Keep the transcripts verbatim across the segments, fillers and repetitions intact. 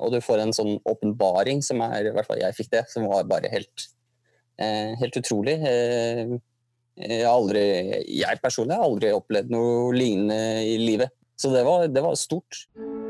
og du får en sånn åpenbaring som er, i hvert fall jeg fikk det, som var bare helt, eh, helt utrolig. Eh, jeg har aldri, jeg personlig har aldri opplevd noe lignende i livet, så det var, det var stort.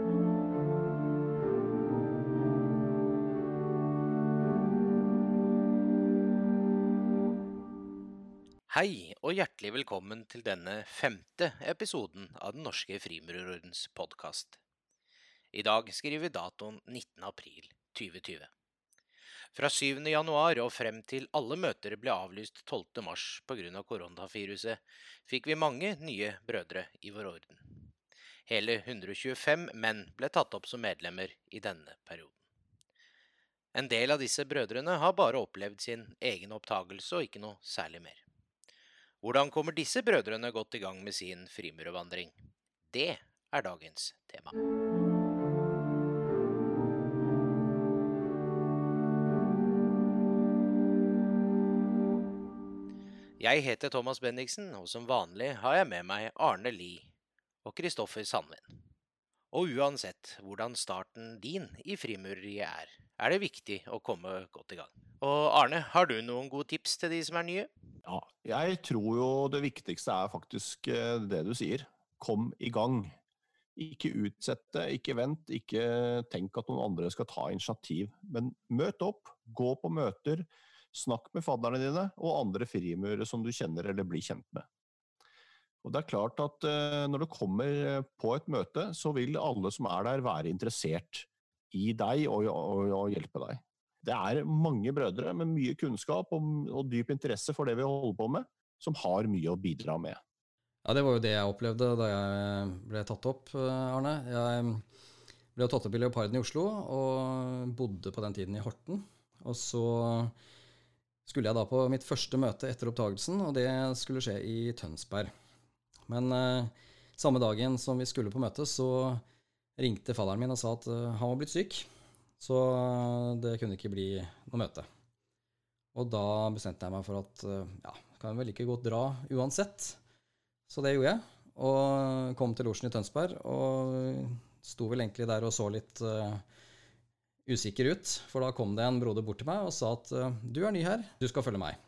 Hei og hjertelig velkommen til denne femte episoden av Den norske frimurerordens podcast. I dag skriver vi datoen nittende april tjue tjue. Fra syvende januar og frem til alle møter ble avlyst tolvte mars på grunn av koronaviruset, fikk vi mange nye brødre i vår orden. Hele hundre og tjuefem menn ble tatt opp som medlemmer i denne perioden. En del av disse brødrene har bare opplevd sin egen opptagelse og ikke noe særlig mer. Hvordan kommer disse brødrene godt i gang med sin frimurervandring? Det er dagens tema. Jeg heter Thomas Bendiksen, og som vanlig har jeg med meg Arne Lie og Kristoffer Sandven. Og uansett hvordan starten din i frimureriet er, er det viktig å komme godt i gang. Og Arne, har du noen gode tips til de som er nye? Ja, jeg tror jo det viktigste er faktisk det du sier. Kom i gang. Ikke utsette, ikke vent, ikke tenk at noen andre skal ta initiativ. Men møt opp, gå på møter, snakk med fadderne dine og andre frimurere som du kjenner eller blir kjent med. Og det er klart at når du kommer på et møte, så vil alle som er der være interessert i deg og, og, og hjelpe deg. Det er mange brødre med mye kunnskap og, og dyp interesse for det vi holder på med, som har mye å bidra med. Ja, det var jo det jeg opplevde da jeg ble tatt opp, Arne. Jeg ble tatt opp i Leoparden i Oslo og bodde på den tiden i Horten. Og så skulle jeg da på mitt første møte etter opptagelsen, og det skulle skje i Tønsberg. Men eh, samme dagen som vi skulle på møte, så ringte fadderen min og sa at uh, han var blitt syk. Så det kunne ikke bli noe møte. Og da bestemte jeg meg for at ja, kan vel ikke godt dra uansett. Så det gjorde jeg, og kom til losjen i Tønsberg, og sto vel egentlig der og så litt uh, usikker ut. For da kom det en broder bort til meg og sa at uh, du er ny her, du skal følge meg.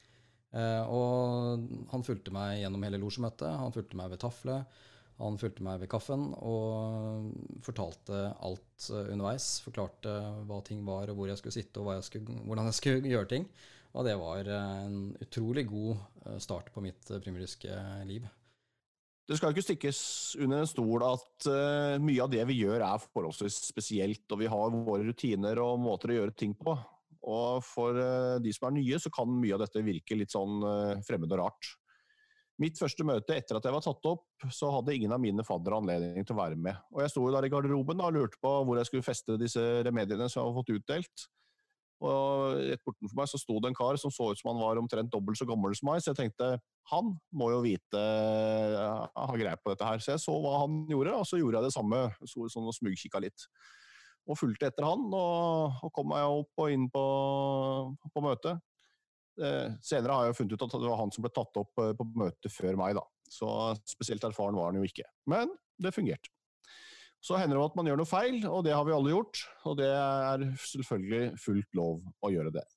Uh, og han fulgte meg gjennom hele losjemøtet, han fulgte meg ved taflet, han fulgte meg ved kaffen og fortalte alt underveis, forklarte hva ting var og hvor jeg skulle sitte og hva jeg skulle, hvordan jeg skulle gjøre ting. Og det var en utrolig god start på mitt frimureriske liv. Det skal ikke stikkes under en stol at uh, mye av det vi gjør er forholdsvis spesielt, og vi har våre rutiner og måter å gjøre ting på. Og for uh, de som er nye, så kan mye av dette virke litt sånn uh, fremmed og rart. Mitt første møte etter at jeg var tatt opp, så hadde ingen av mine faddere anledning til å være med. Og jeg sto der i garderoben og lurte på hvor jeg skulle feste disse remediene som jeg hadde fått utdelt. Og rett bortenfor meg så sto det en kar som så ut som han var omtrent dobbelt så gammel som meg, så jeg tenkte, han må jo vite, ha greie på dette her. Så jeg så hva han gjorde, og så gjorde jeg det samme, så sånn og smugkikket litt. Og fulgte etter han, og, og kom meg opp og inn på, på møtet. Senere har jeg funnet ut at det var han som ble tatt opp på møtet før meg da. Så spesielt erfaren var han jo ikke. Men det fungerte. Så hender det at man gjør noe feil, og det har vi alle gjort. Og det er selvfølgelig fullt lov å gjøre det.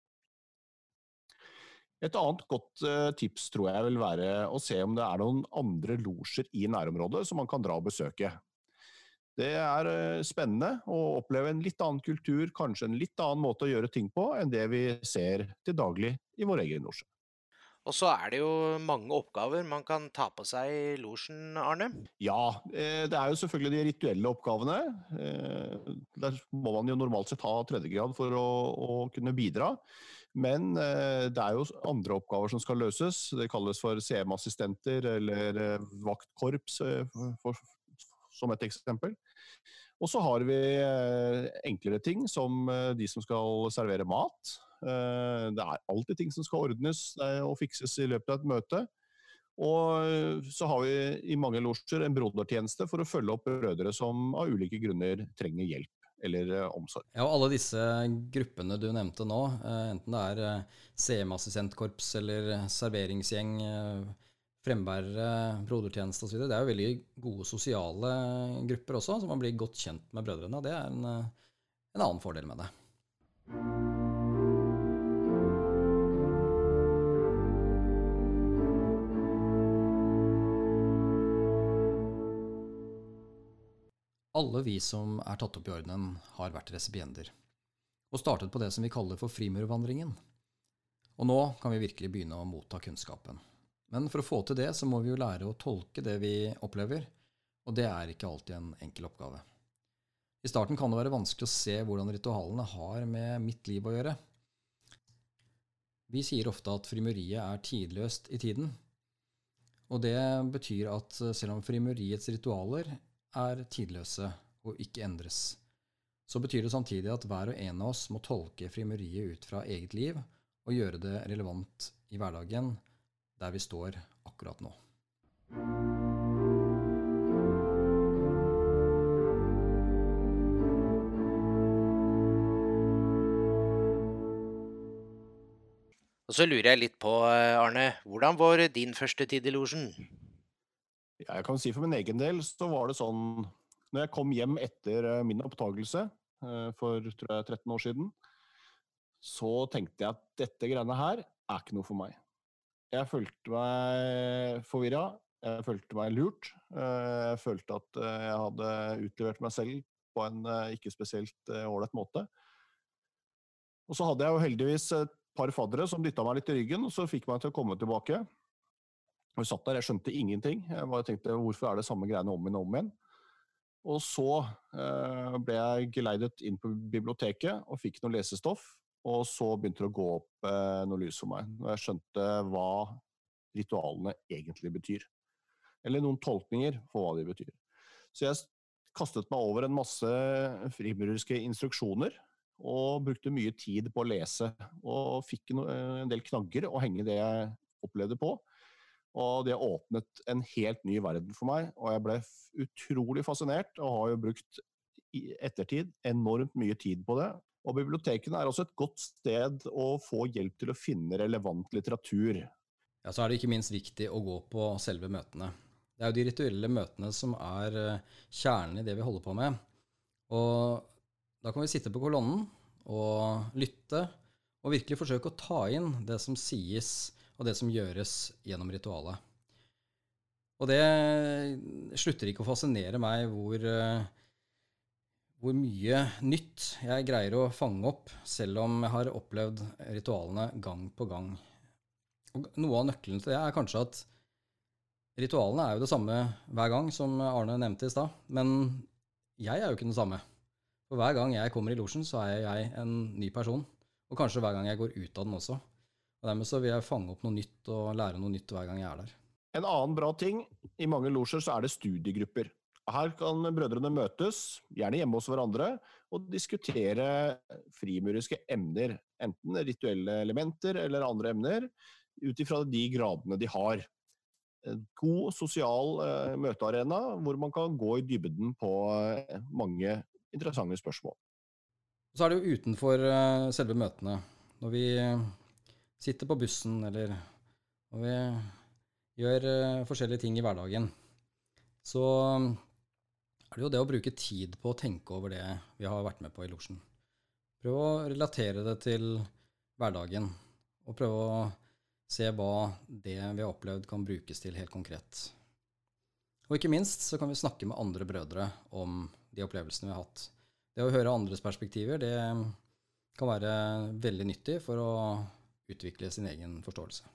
Et annet godt tips tror jeg vil være å se om det er noen andre losjer i nærområdet som man kan dra og besøke. Det er spennende å oppleve en litt annen kultur, kanskje en litt annen måte å gjøre ting på enn det vi ser til daglig i vår egen losje. Og så er det jo mange oppgaver man kan ta på seg i losjen, Arne. Ja, det er jo selvfølgelig de rituelle oppgavene. Der må man jo normalt sett ha tredjegrad for å, å kunne bidra. Men det er jo andre oppgaver som skal løses. Det kalles for C M-assistenter eller vaktkorps for som et eksempel. Og så har vi enklere ting som de som skal servere mat. Det er alltid ting som skal ordnes og fikses i løpet av et møte. Og så har vi i mange losjer en brodertjeneste for å følge opp brødre som av ulike grunner trenger hjelp eller omsorg. Ja, og alle disse gruppene du nevnte nå, enten det er C M-assistentkorps eller serveringsgjeng, frembærere, brodertjeneste og så videre. Det er jo veldig gode sosiale grupper også, så man blir godt kjent med brødrene. Det er en en annen fordel med det. Alle vi som er tatt opp i ordenen har vært resipienter, og startet på det som vi kaller for frimurvandringen. Og nå kan vi virkelig begynne å motta kunnskapen. Men for å få til det så må vi jo lære å tolke det vi opplever, og det er ikke alltid en enkel oppgave. I starten kan det være vanskelig å se hvordan ritualene har med mitt liv å gjøre. Vi sier ofte at frimuriet er tidløst i tiden, og det betyr at selv om frimuriets ritualer er tidløse og ikke endres, så betyr det samtidig at hver og en av oss må tolke frimuriet ut fra eget liv og gjøre det relevant i hverdagen der vi står akkurat nå. Og så lurer jeg litt på, Arne, hvordan var din første tid i losjen? Jeg kan si for min egen del, så var det sånn, når jeg kom hjem etter min opptagelse for tror jeg, tretten år siden, så tenkte jeg at dette greiene her er ikke noe for meg. Jeg følte meg forvirret, jeg følte meg lurt, jeg følte at jeg hadde utlevert meg selv på en ikke spesielt ålreit måte. Og så hadde jeg jo heldigvis et par faddere som dyttet meg litt i ryggen, og så fikk meg til å komme tilbake. Og jeg satt der, jeg skjønte ingenting. Jeg bare tenkte, hvorfor er det samme greiene om igjen og om igjen? Og så eh, ble jeg geleidet inn på biblioteket og fikk noe lesestoff, og så begynte det å gå opp eh, noe lys for meg, når jeg skjønte hva ritualene egentlig betyr. Eller noen tolkninger for hva de betyr. Så jeg kastet meg over en masse frimurerske instruksjoner, og brukte mye tid på å lese, og fikk en del knagger å henge det jeg opplevde på. Og det åpnet en helt ny verden for meg, og jeg ble utrolig fascinert, og har jo brukt i ettertid enormt mye tid på det. Og bibliotekene er også et godt sted å få hjelp til å finne relevant litteratur. Ja, så er det ikke minst viktig å gå på selve møtene. Det er jo de rituelle møtene som er kjernen i det vi holder på med. Og da kan vi sitte på kolonnen og lytte, og virkelig forsøke å ta inn det som sies og det som gjøres gjennom ritualet. Og det slutter ikke å fascinere meg hvor, hvor mye nytt jeg greier å fange opp, selv om jeg har opplevd ritualene gang på gang. Og noe av nøkkelen til det er kanskje at ritualene er jo det samme hver gang, som Arne nevnte i stad, men jeg er jo ikke den samme. For hver gang jeg kommer i losjen, så er jeg en ny person, og kanskje hver gang jeg går ut av den også. Og dermed så vil jeg fange opp noe nytt og lære noe nytt hver gang jeg er der. En annen bra ting, i mange losjer så er det studiegrupper. Her kan brødrene møtes, gjerne hjemme hos hverandre, og diskutere frimuriske emner, enten rituelle elementer eller andre emner, utifra de gradene de har. En god sosial uh, møtearena, hvor man kan gå i dybden på uh, mange interessante spørsmål. Så er det jo utenfor uh, selve møtene, når vi sitter på bussen, eller når vi gjør uh, forskjellige ting i hverdagen, så er det jo det å bruke tid på å tenke over det vi har vært med på i losjen. Prøv å relatere det til hverdagen, og prøve å se hva det vi har opplevd kan brukes til helt konkret. Og ikke minst så kan vi snakke med andre brødre om de opplevelsene vi har hatt. Det å høre andres perspektiver, det kan være veldig nyttig for å utvikle sin egen forståelse.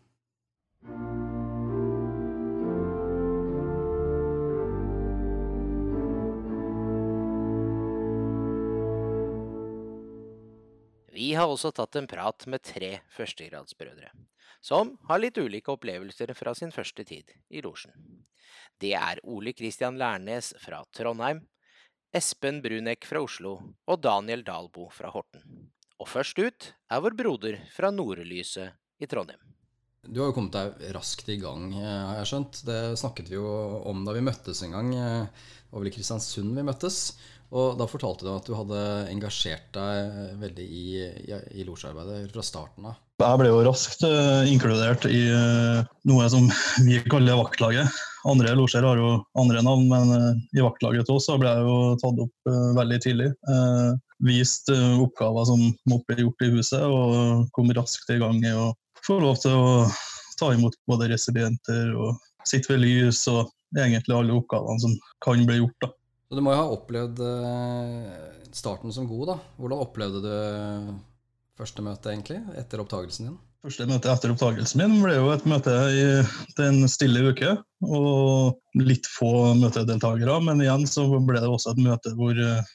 Vi har også tatt en prat med tre førstegradsbrødre, som har litt ulike opplevelser fra sin første tid i losjen. Det er Ole Kristian Lærnes fra Trondheim, Espen Brunek fra Oslo og Daniel Dalbo fra Horten. Og først ut er vår broder fra Nordlyset i Trondheim. Du har jo kommet deg raskt i gang, har jeg skjønt. Det snakket vi jo om da vi møttes en gang. Det var vel i Kristiansund vi møttes. Og da fortalte du at du hadde engasjert deg veldig i, i, i losjearbeidet fra starten av. Jeg ble jo raskt uh, inkludert i uh, noe som vi kaller vaktlaget. Andre losjer har jo andre navn, men uh, i vaktlaget også ble jeg jo tatt opp uh, veldig tidlig. Uh, vist oppgaver som måtte bli gjort i huset, og kom raskt i gang i å få lov til å ta imot både resipienter og sitte ved lys, og egentlig alle oppgavene som kan bli gjort da. Så du må jo ha opplevd starten som god da. Hvordan opplevde du første møte egentlig, etter opptagelsen din? Første møte etter opptagelsen min ble jo et møte i den stille uke, og litt få møtedeltagere, men igjen så ble det også et møte hvor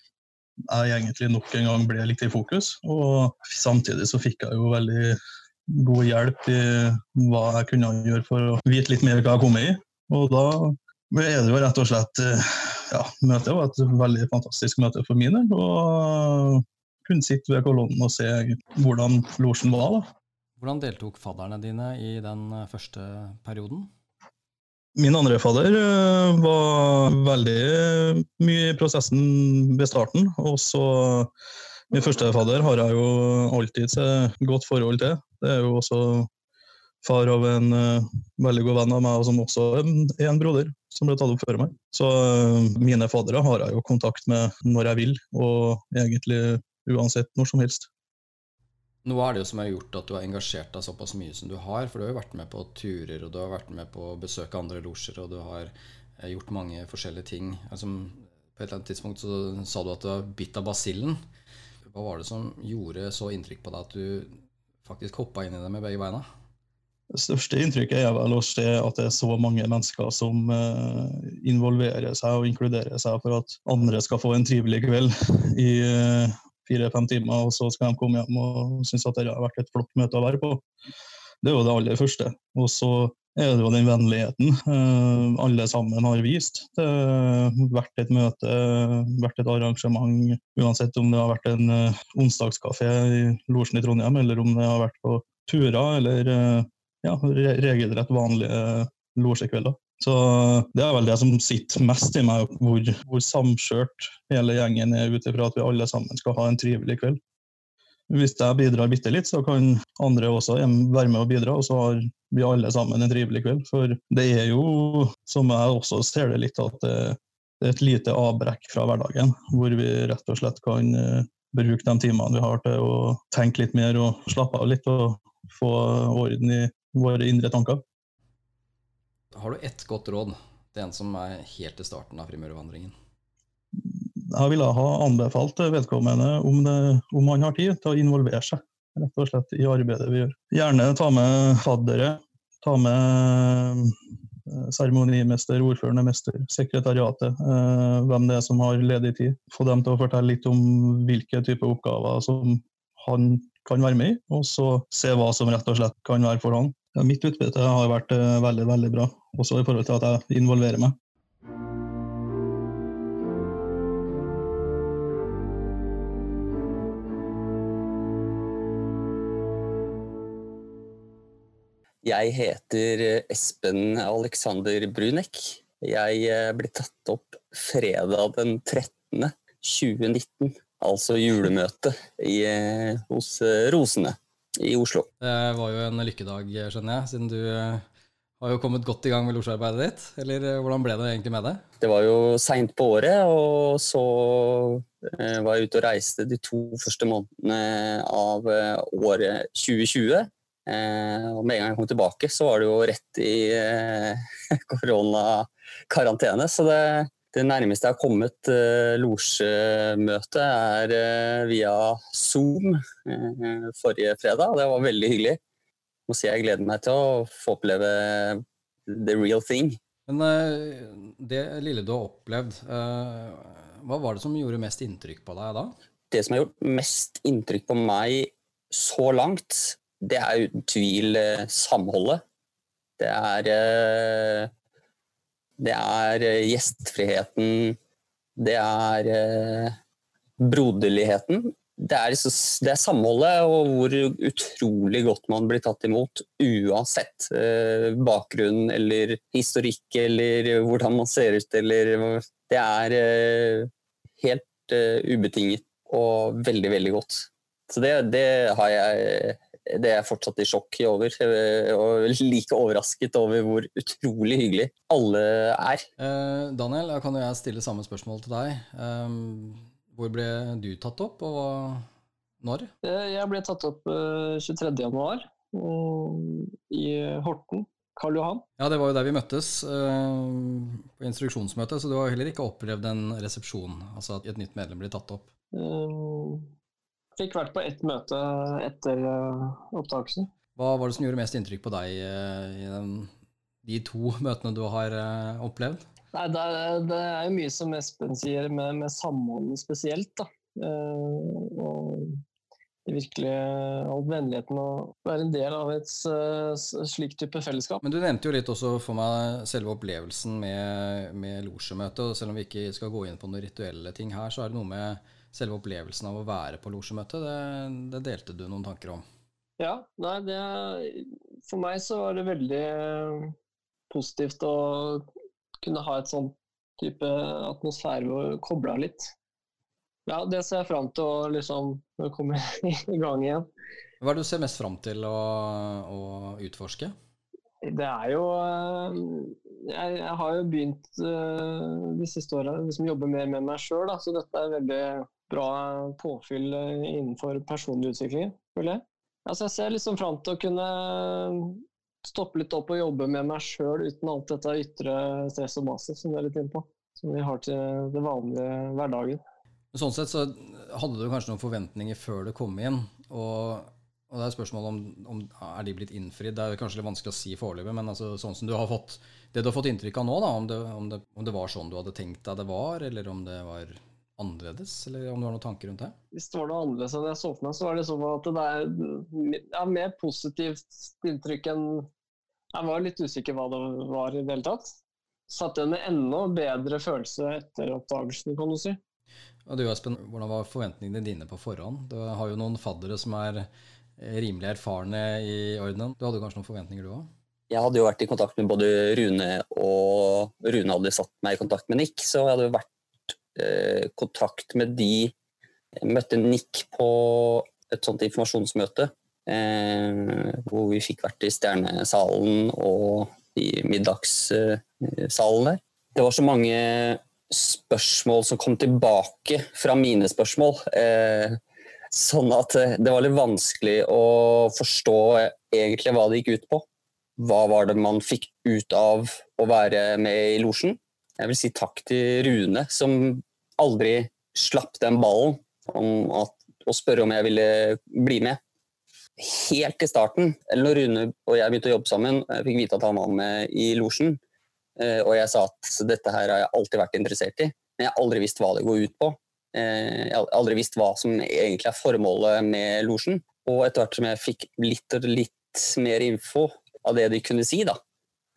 jeg egentlig nok en gang ble litt i fokus, og samtidig så fikk jeg jo veldig god hjelp i hva jeg kunne gjøre for å vite litt mer hva jeg kom i, og da er det jo rett og slett, ja, møtet var et veldig fantastisk møte for min del, og kunne sitte ved kolonnen og se hvordan losjen var da. Hvordan deltok fadderne dine i den første perioden? Min andre fadder var veldig mye i prosessen ved starten, og så min første fadder har jeg jo alltid et godt forhold til. Det er jo også far av en uh, veldig god venn av meg, og som også er en broder som ble tatt opp før meg. Så uh, mine faddere har jeg jo kontakt med når jeg vil, og egentlig uansett når som helst. Nå er det jo som har gjort at du har engasjert deg såpass mye som du har, for du har jo vært med på turer, og du har vært med på å besøke andre losjer, og du har eh, gjort mange forskjellige ting. Altså, på et eller annet tidspunkt så sa du at du var bitt av basillen. Hva var det som gjorde så inntrykk på deg at du faktisk hoppet inn i det med begge beina? Det største inntrykket er vel å se at det er så mange mennesker som eh, involverer seg og inkluderer seg for at andre skal få en trivelig kveld i eh, fire-fem timer, og så skal de komme hjem og synes at det har vært et flott møte å være på. Det er jo det aller første. Og så er det jo den vennligheten eh, alle sammen har vist. Det har vært et møte, vært et arrangement, uansett om det har vært en eh, onsdagskafé i losjen i Trondheim, eller om det har vært på turer, eller eh, ja, regelrett vanlige losjekvelder. Så det er vel det som sitter mest i meg, hvor, hvor samkjørt hele gjengen er ute fra at vi alle sammen skal ha en trivelig kveld. Hvis jeg bidrar bitte litt, så kan andre også være med og bidra, og så har vi alle sammen en trivelig kveld. For det er jo, som jeg også ser det litt, at det er et lite avbrekk fra hverdagen, hvor vi rett og slett kan bruke de timene vi har til å tenke litt mer og slappe av litt, og få orden i våre indre tanker. Har du ett godt råd til en som er helt i starten av frimurervandringen? Jeg ville ha anbefalt vedkommende om, det, om han har tid til å involvere seg rett og slett i arbeidet vi gjør. Gjerne ta med faddere, ta med seremonimester, ordførende mester, sekretariatet, hvem det er som har ledig tid. Få dem til å fortelle litt om hvilke typer oppgaver som han kan være med i, og så se hva som rett og slett kan være for han. Ja, mitt utbytte har vært uh, veldig, veldig bra, også i forhold til at jeg involverer meg. Jeg heter Espen Alexander Brunek. Jeg ble tatt opp fredag den trettende tjue nitten, altså julemøte i, hos Rosene i Oslo. Det var jo en lykkedag, skjønner jeg, siden du har jo kommet godt i gang med losjearbeidet ditt, eller hvordan ble det egentlig med det? Det var jo sent på året, og så eh, var jeg ute og reiste de to første månedene av året tjue tjue, eh, og med en gang jeg kom tilbake så var det jo rett i eh, koronakarantene, så det Det nærmeste jeg har kommet uh, losjemøte er uh, via Zoom uh, forrige fredag, og det var veldig hyggelig. Jeg må si jeg gleder meg til å få oppleve the real thing. Men uh, det lille du har opplevd, uh, hva var det som gjorde mest inntrykk på deg da? Det som har gjort mest inntrykk på meg så langt, det er uten tvil uh, samholdet. Det er... Uh, Det er gjestfriheten, det er eh, broderligheten, det er, det er samholdet og hvor utrolig godt man blir tatt imot, uansett eh, bakgrunn eller historikk eller hvordan man ser ut. Eller, det er eh, helt eh, ubetinget og veldig, veldig godt. Så det, det har jeg... Det er jeg fortsatt i sjokk over, og like overrasket over hvor utrolig hyggelig alle er. Eh, Daniel, jeg kan jo jeg stille samme spørsmål til deg. Um, Hvor ble du tatt opp, og hva- når? Jeg ble tatt opp uh, tjuetredje januar uh, i Horten, Karl Johan. Ja, det var jo der vi møttes uh, på instruksjonsmøte, så du har heller ikke opplevd en resepsjon, altså at et nytt medlem blir tatt opp. Uh, fikk vært på ett møte etter uh, opptakelsen. Hva var det som gjorde mest inntrykk på deg uh, i den, de to møtene du har uh, opplevd? Nei, det er, det er jo mye som Espen sier med, med samholdet spesielt, da. Uh, og virkelig all vennligheten å være en del av et uh, slik type fellesskap. Men du nevnte jo litt også for meg selve opplevelsen med, med losjemøte, og selv om vi ikke skal gå inn på noen rituelle ting her, så er det noe med selve opplevelsen av å være på losjemøte. Det, det delte du noen tanker om. Ja, nei, det, for meg så var det veldig positivt å kunne ha et sånn type atmosfære og koble av litt. Ja, det ser jeg frem til å liksom komme i gang igjen. Hva er det du ser mest frem til å, å utforske? Det er jo Jeg, jeg har jo begynt de siste årene liksom jobbe mer med meg selv, da, så dette er veldig bra påfyll innenfor personlig utvikling, føler jeg. Altså, jeg ser liksom frem til å kunne stoppe litt opp og jobbe med meg selv uten alt dette ytre stress og masse som vi er litt inne på, som vi har til det vanlige hverdagen. Sånn sett så hadde du kanskje noen forventninger før du kom inn, og, og det er spørsmålet om, om er de blitt innfridd. Det er kanskje litt vanskelig å si foreløpig, men altså, sånn som du har fått, det du har fått inntrykk av nå, da, om, det, om, det, om det var sånn du hadde tenkt deg det var, eller om det var annerledes, eller om du har noen tanker rundt det? Hvis det var noe annerledes enn jeg så for meg, så var det sånn at det er ja, mer positivt inntrykk enn jeg var litt usikker hva det var i det hele tatt. Satt igjen med enda bedre følelse etter oppdagelsen, kan du si. Og du, Espen, hvordan var forventningene dine på forhånd? Du har jo noen faddere som er rimelig erfarne i ordenen. Du hadde kanskje noen forventninger du også? Jeg hadde jo vært i kontakt med både Rune, og Rune hadde satt meg i kontakt med Nick, så jeg hadde jo vært i eh, kontakt med de. Jeg møtte Nick på et sånt informasjonsmøte, eh, hvor vi fikk vært i Stjernesalen og i middagssalen der. Det var så mange spørsmål som kom tilbake fra mine spørsmål, eh, sånn at det var litt vanskelig å forstå egentlig hva det gikk ut på. Hva var det man fikk ut av å være med i losjen? Jeg vil si takk til Rune, som aldri slapp den ballen om at, å spørre om jeg ville bli med. Helt i starten, eller når Rune og jeg begynte å jobbe sammen, jeg fikk vite at han var med i losjen, og jeg sa at dette her har jeg alltid vært interessert i, men jeg har aldri visst hva det går ut på. Jeg har aldri visst hva som egentlig er formålet med losjen. Og etter hvert som jeg fikk litt og litt mer info av det de kunne si, da,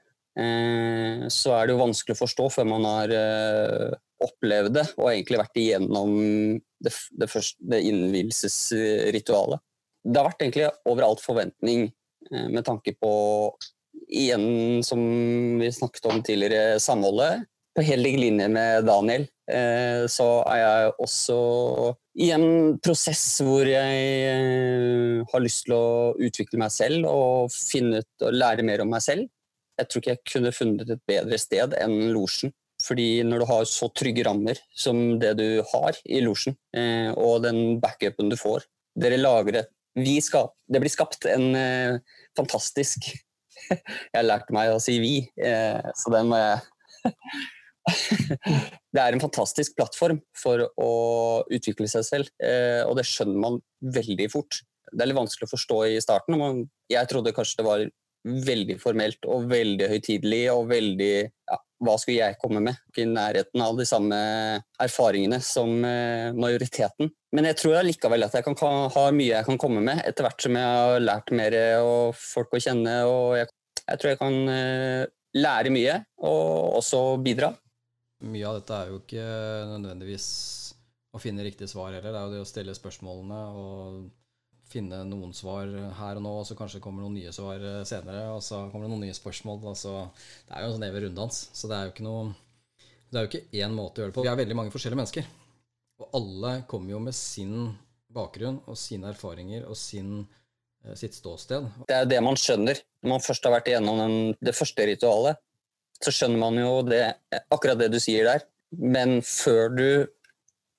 så er det jo vanskelig å forstå før man har opplevd det, og egentlig vært igjennom det, det, første, det innvielsesritualet. Det har vært egentlig overalt forventning med tanke på igjen, som vi snakket om tidligere, samholdet. På helt lik linje med Daniel, eh, så er jeg også i en prosess hvor jeg eh, har lyst til å utvikle meg selv og finne ut og lære mer om meg selv. Jeg tror ikke jeg kunne funnet et bedre sted enn losjen. Fordi når du har så trygge rammer som det du har i losjen, eh, og den backupen du får, dere lager et, vi skap, det blir skapt en eh, fantastisk Jeg lærte meg å si vi, så den må jeg Det er en fantastisk plattform for å utvikle seg selv, og det skjønner man veldig fort. Det er litt vanskelig å forstå i starten. Jeg trodde kanskje det var veldig formelt og veldig høytidelig og veldig, ja, hva skulle jeg komme med? Ikke i nærheten av de samme erfaringene som majoriteten. Men jeg tror likevel at jeg kan ha mye jeg kan komme med etter hvert som jeg har lært mer og folk å kjenne, og jeg, jeg tror jeg kan lære mye og også bidra. Mye av dette er jo ikke nødvendigvis å finne riktig svar heller. Det er jo det å stille spørsmålene og finne noen svar her og nå, og så kanskje kommer noen nye svar senere, og så kommer det noen nye spørsmål. Altså, det er jo en sånn evig runddans, så det er jo ikke noe, det er jo ikke én måte å gjøre det på. Vi er veldig mange forskjellige mennesker, og alle kommer jo med sin bakgrunn og sine erfaringer og sin, sitt ståsted. Det er jo det man skjønner. Når man først har vært igjennom den, det første ritualet, så skjønner man jo det, akkurat det du sier der. Men før du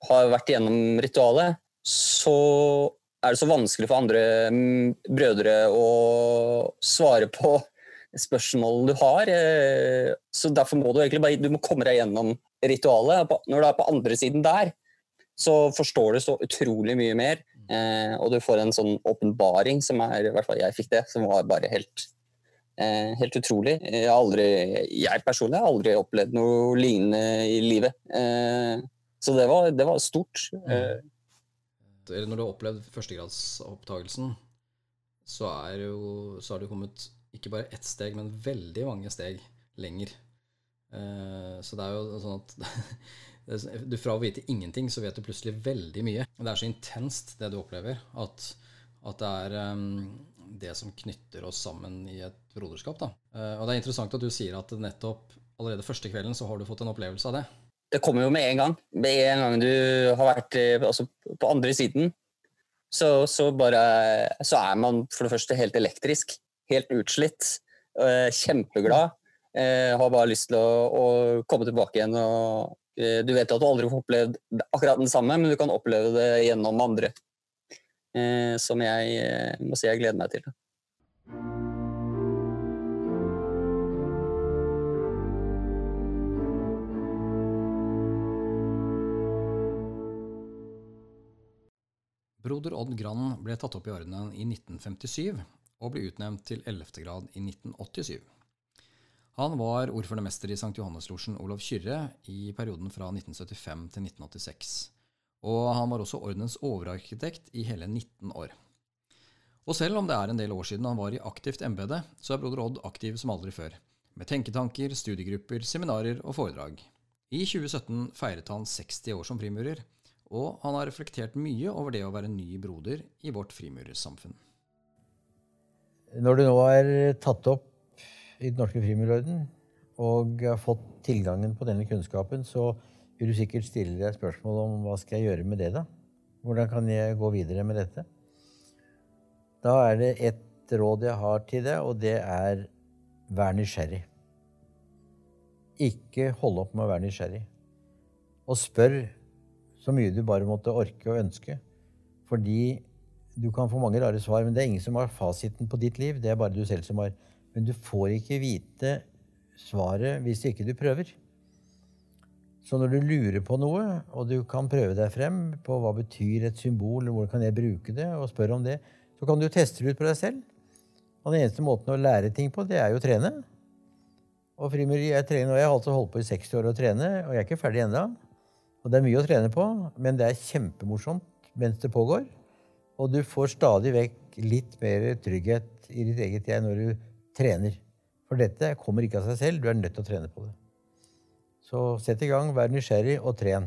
har vært gjennom ritualet, så er det så vanskelig for andre brødre å svare på spørsmål du har. Så derfor må du egentlig bare du må komme deg gjennom ritualet. Når du er på andre siden der, så forstår du så utrolig mye mer, og du får en sånn åpenbaring som er, i hvert fall jeg fikk det, som var bare helt, helt utrolig. Jeg har aldri, jeg personlig har aldri opplevd noe lignende i livet. Så det var, det var stort. Mm. Når du har opplevd førstegradsopptagelsen, så er jo, så har du kommet ikke bare ett steg, men veldig mange steg lenger. Så det er jo sånn at du fra å vite ingenting, så vet du plutselig veldig mye. Det er så intenst det du opplever, at, at det er um, det som knytter oss sammen i et broderskap. Da. Og det er interessant at du sier at nettopp allerede første kvelden så har du fått en opplevelse av det. Det kommer jo med en gang. Med en gang du har vært altså, på andre siden, så, så, bare, så er man for det første helt elektrisk, helt utslitt, kjempeglad, har bare lyst til å, å komme tilbake igjen. Og, du vet at du aldri får opplevd akkurat den samme, men du kan oppleve det gjennom andre, som jeg må si jeg gleder meg til. Broder Odd Gran ble tatt opp i ordenen i nitten femtisyv og ble utnevnt til ellevte grad i nitten åttisyv. Han var ordførermester i Sankt Johanneslosjen Olav Kyrre i perioden fra nitten syttifem til nitten åttiseks, og han var også ordenens overarkitekt i hele nitten år. Og selv om det er en del år siden han var i aktivt embede, så er broder Odd aktiv som aldri før, med tenketanker, studiegrupper, seminarer og foredrag. I tjue sytten feiret han seksti år som frimurer, og han har reflektert mye over det å være ny broder i vårt frimurersamfunn. Når du nå er tatt opp i den norske frimurerorden og har fått tilgangen på denne kunnskapen, så vil du sikkert stille deg spørsmål om hva skal jeg gjøre med det da? Hvordan kan jeg gå videre med dette? Da er det et råd jeg har til deg, og det er vær nysgjerrig. Ikke hold opp med å være nysgjerrig. Og spør så mye du bare måtte orke og ønske, fordi du kan få mange rare svar, men det er ingen som har fasiten på ditt liv, det er bare du selv som har. Men du får ikke vite svaret hvis ikke du prøver. Så når du lurer på noe, og du kan prøve deg frem på hva betyr et symbol, eller hvordan kan jeg bruke det, og spørre om det, så kan du teste det ut på deg selv. Og den eneste måten å lære ting på, det er jo å trene. Og frimureri er trening, og jeg har altså holdt på i seksti år å trene, og jeg er ikke ferdig enda. Og det er mye å trene på, men det er kjempemorsomt mens det pågår. Og du får stadig vekk litt mer trygghet i ditt eget jeg når du trener. For dette kommer ikke av seg selv, du er nødt til å trene på det. Så sett i gang, vær nysgjerrig og tren.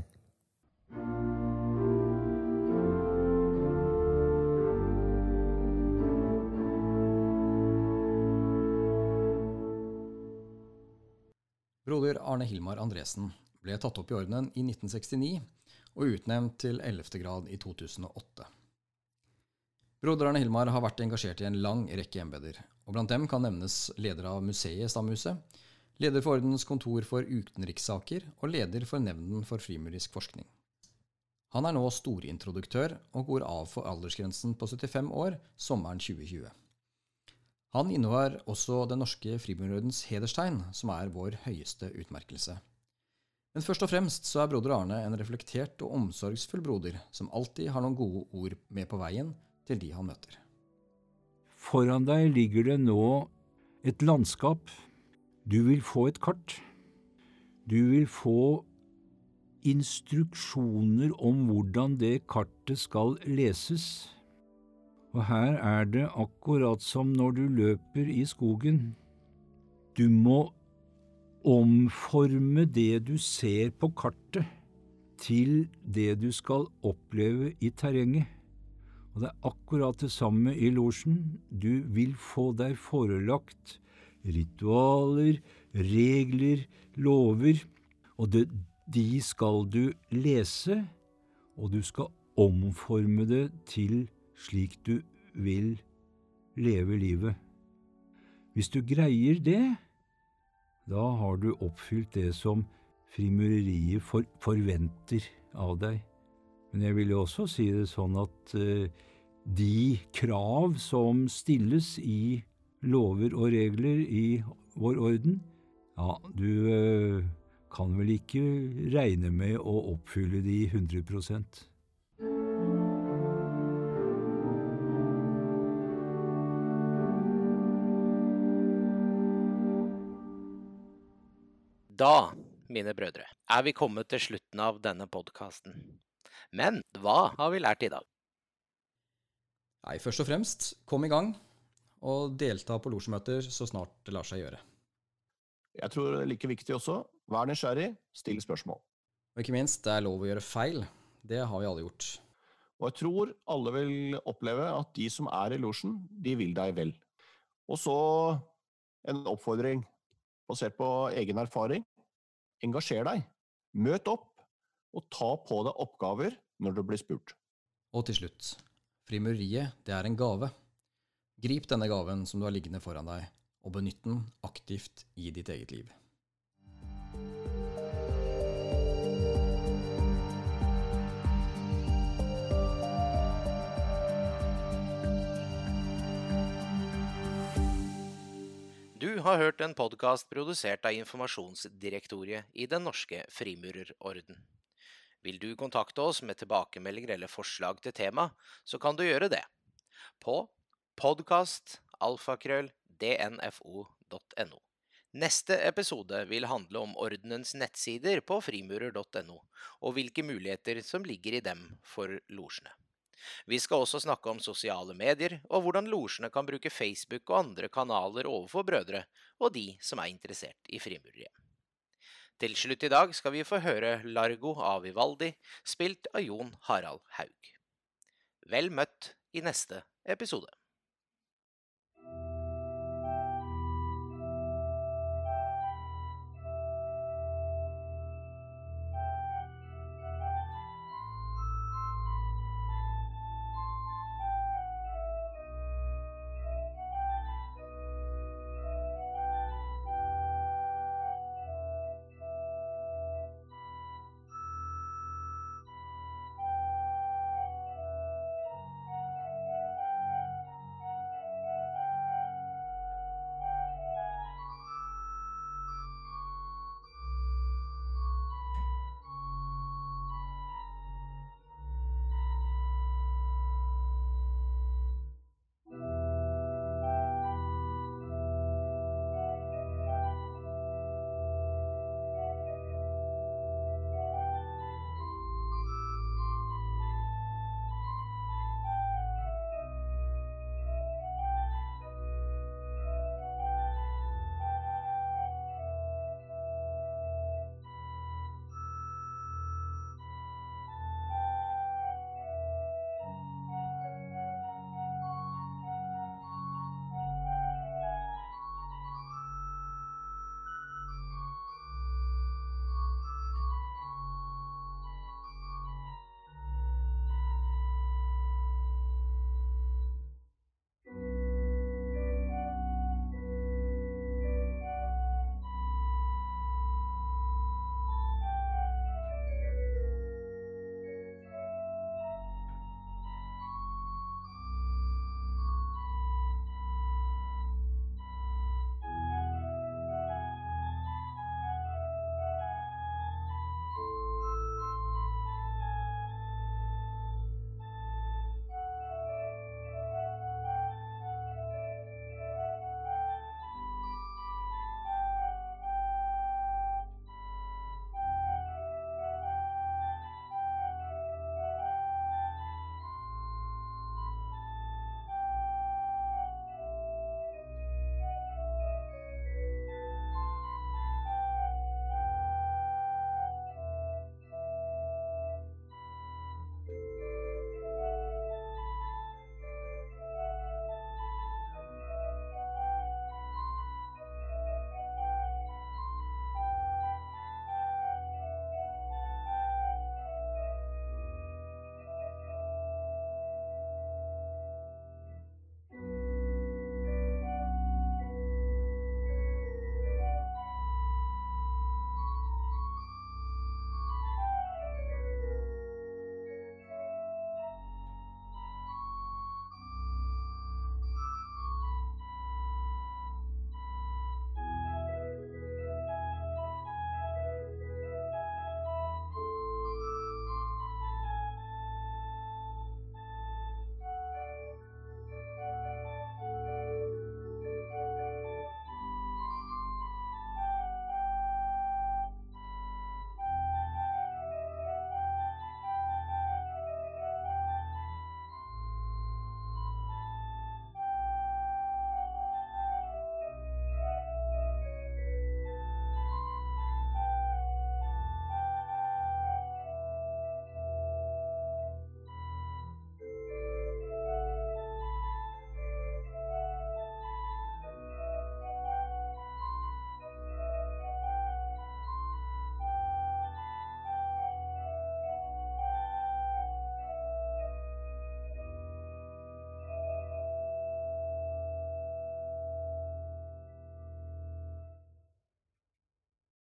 Broder Arne Hilmar Andresen ble tatt opp i ordenen i nitten sekstini og utnevnt til ellevte grad i to tusen og åtte. Broder Arne Hilmar har vært engasjert i en lang rekke embeder, og blant dem kan nevnes leder av museet Stamhuset, leder for ordenens kontor for utenrikssaker og leder for nevnden for frimurisk forskning. Han er nå storintroduktør og går av for aldersgrensen på syttifem år sommeren tjue tjue. Han innehar også den norske frimurerordens hederstegn, som er vår høyeste utmerkelse. Men først og fremst så er broder Arne en reflektert og omsorgsfull broder, som alltid har noen gode ord med på veien til de han møter. Foran deg ligger det nå et landskap. Du vil få et kart. Du vil få instruksjoner om hvordan det kartet skal leses. Og her er det akkurat som når du løper i skogen. Du må omforme det du ser på kartet til det du skal oppleve i terrenget. Og det er akkurat det samme i losjen. Du vil få deg forelagt ritualer, regler, lover, og det, de skal du lese, og du skal omforme det til slik du vil leve livet. Hvis du greier det, da har du oppfylt det som frimureriet for, forventer av deg. Men jeg vil jo også si det sånn at eh, de krav som stilles i lover og regler i vår orden, ja, du eh, kan vel ikke regne med å oppfylle de hundre prosent. Da, mine brødre, er vi kommet til slutten av denne podcasten. Men hva har vi lært i dag? Nei, først og fremst, kom i gang, og delta på losjemøter så snart det lar seg gjøre. Jeg tror det er like viktig også, vær nysgjerrig, still spørsmål. Og ikke minst, det er lov å gjøre feil. Det har vi alle gjort. Og jeg tror alle vil oppleve at de som er i losjen, de vil deg vel. Og så en oppfordring, basert på egen erfaring, engasjer deg, møt opp, og ta på deg oppgaver når du blir spurt. Og til slutt, frimureriet, det er en gave. Grip denne gaven som du har liggende foran deg, og benytt den aktivt i ditt eget liv. Du har hørt en podcast produsert av Informasjonsdirektoriet i Den norske frimurerorden. Vil du kontakte oss med tilbakemeldinger eller forslag til tema, så kan du gjøre det på podcast alfakrøll d n f o punktum n o. Neste episode vil handle om ordenens nettsider på frimurer punktum n o, og hvilke muligheter som ligger i dem for losjene. Vi skal også snakke om sosiale medier, og hvordan losjene kan bruke Facebook og andre kanaler overfor brødre, og de som er interessert i frimureriet. Til slutt i dag skal vi få høre Largo av Vivaldi, spilt av Jon Harald Haug. Vel møtt i neste episode.